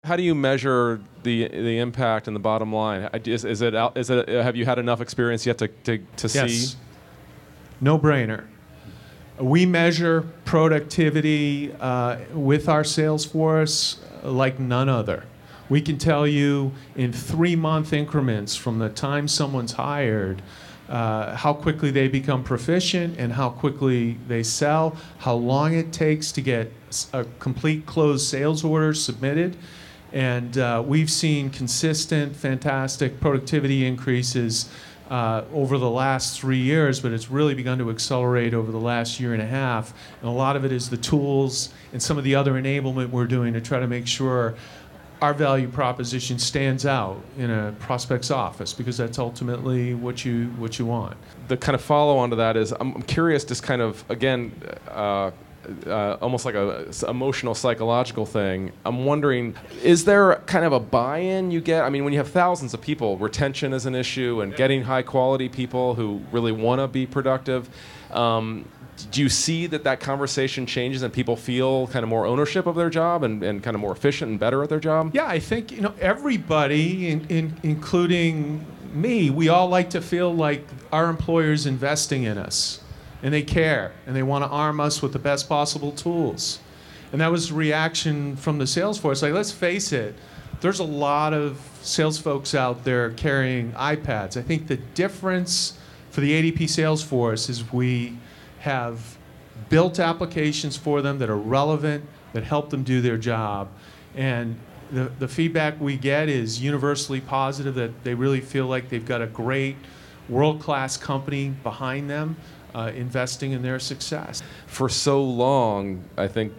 How do you measure the impact and the bottom line? Have you had enough experience yet to see? Yes. No brainer. We measure productivity with our sales force like none other. We can tell you in 3-month increments from the time someone's hired how quickly they become proficient and how quickly they sell, how long it takes to get a complete closed sales order submitted. And we've seen consistent, fantastic productivity increases over the last 3 years, but it's really begun to accelerate over the last year and a half. And a lot of it is the tools and some of the other enablement we're doing to try to make sure our value proposition stands out in a prospect's office, because that's ultimately what you want. The kind of follow-on to that is, I'm curious, just kind of, again, almost like a emotional, psychological thing. I'm wondering, is there kind of a buy-in you get? I mean, when you have thousands of people, retention is an issue, and getting high-quality people who really want to be productive. Do you see that conversation changes and people feel kind of more ownership of their job and kind of more efficient and better at their job? Yeah, I think everybody, including me, we all like to feel like our employer's investing in us, and they care, and they want to arm us with the best possible tools. And that was the reaction from the sales force. Like, let's face it, there's a lot of sales folks out there carrying iPads. I think the difference for the ADP sales force is we have built applications for them that are relevant, that help them do their job. And the feedback we get is universally positive, that they really feel like they've got a great world-class company behind them investing in their success. For so long, I think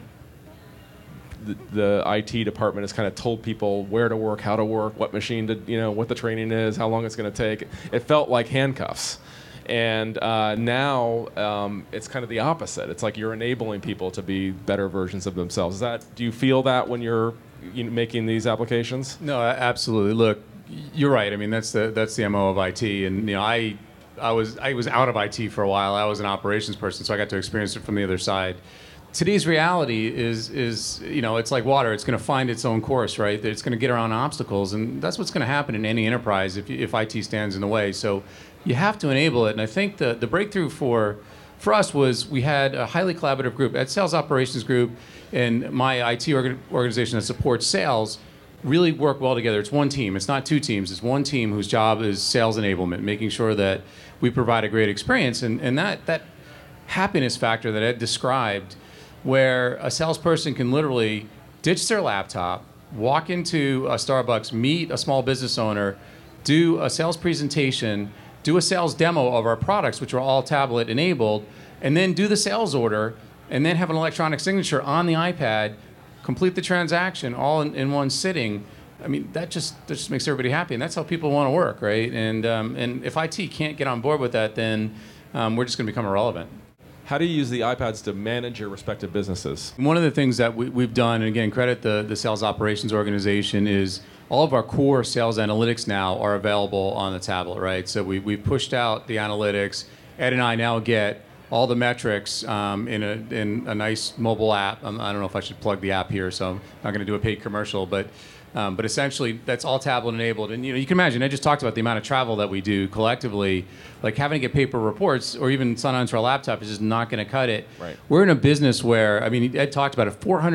the IT department has kind of told people where to work, how to work, what machine to, what the training is, how long it's going to take. It felt like handcuffs. And now it's kind of the opposite. It's like you're enabling people to be better versions of themselves. Do you feel that when you're making these applications? No, absolutely. Look, you're right. I mean, that's the MO of IT. And I was out of IT for a while. I was an operations person, so I got to experience it from the other side. Today's reality is it's like water. It's going to find its own course, right? It's going to get around obstacles, and that's what's going to happen in any enterprise if IT stands in the way. So you have to enable it. And I think the breakthrough for us was we had a highly collaborative group at Sales Operations Group, and my IT organization that supports sales really work well together. It's one team. It's not two teams. It's one team whose job is sales enablement, making sure that we provide a great experience. And that happiness factor that Ed described, where a salesperson can literally ditch their laptop, walk into a Starbucks, meet a small business owner, do a sales presentation, do a sales demo of our products, which are all tablet enabled, and then do the sales order, and then have an electronic signature on the iPad, complete the transaction all in one sitting. I mean, that just makes everybody happy, and that's how people want to work, right? And if IT can't get on board with that, then we're just going to become irrelevant. How do you use the iPads to manage your respective businesses? One of the things that we've done, and again, credit the sales operations organization, is all of our core sales analytics now are available on the tablet, right? So we've pushed out the analytics. Ed and I now get all the metrics in a nice mobile app. I don't know if I should plug the app here, so I'm not going to do a paid commercial, but essentially that's all tablet enabled. And you can imagine, I just talked about the amount of travel that we do collectively. Like having to get paper reports or even sign onto our laptop is just not going to cut it. Right. We're in a business where, I mean, Ed talked about it,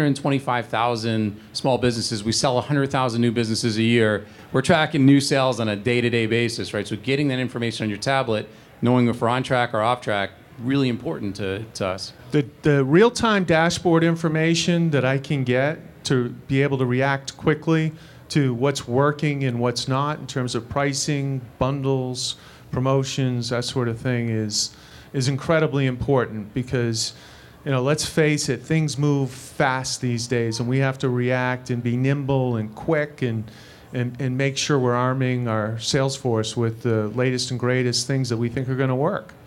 425,000 small businesses. We sell 100,000 new businesses a year. We're tracking new sales on a day-to-day basis, right? So getting that information on your tablet, knowing if we're on track or off track, really important to us. The real-time dashboard information that I can get to be able to react quickly to what's working and what's not in terms of pricing, bundles, promotions, that sort of thing is incredibly important, because let's face it, things move fast these days, and we have to react and be nimble and quick and make sure we're arming our sales force with the latest and greatest things that we think are going to work.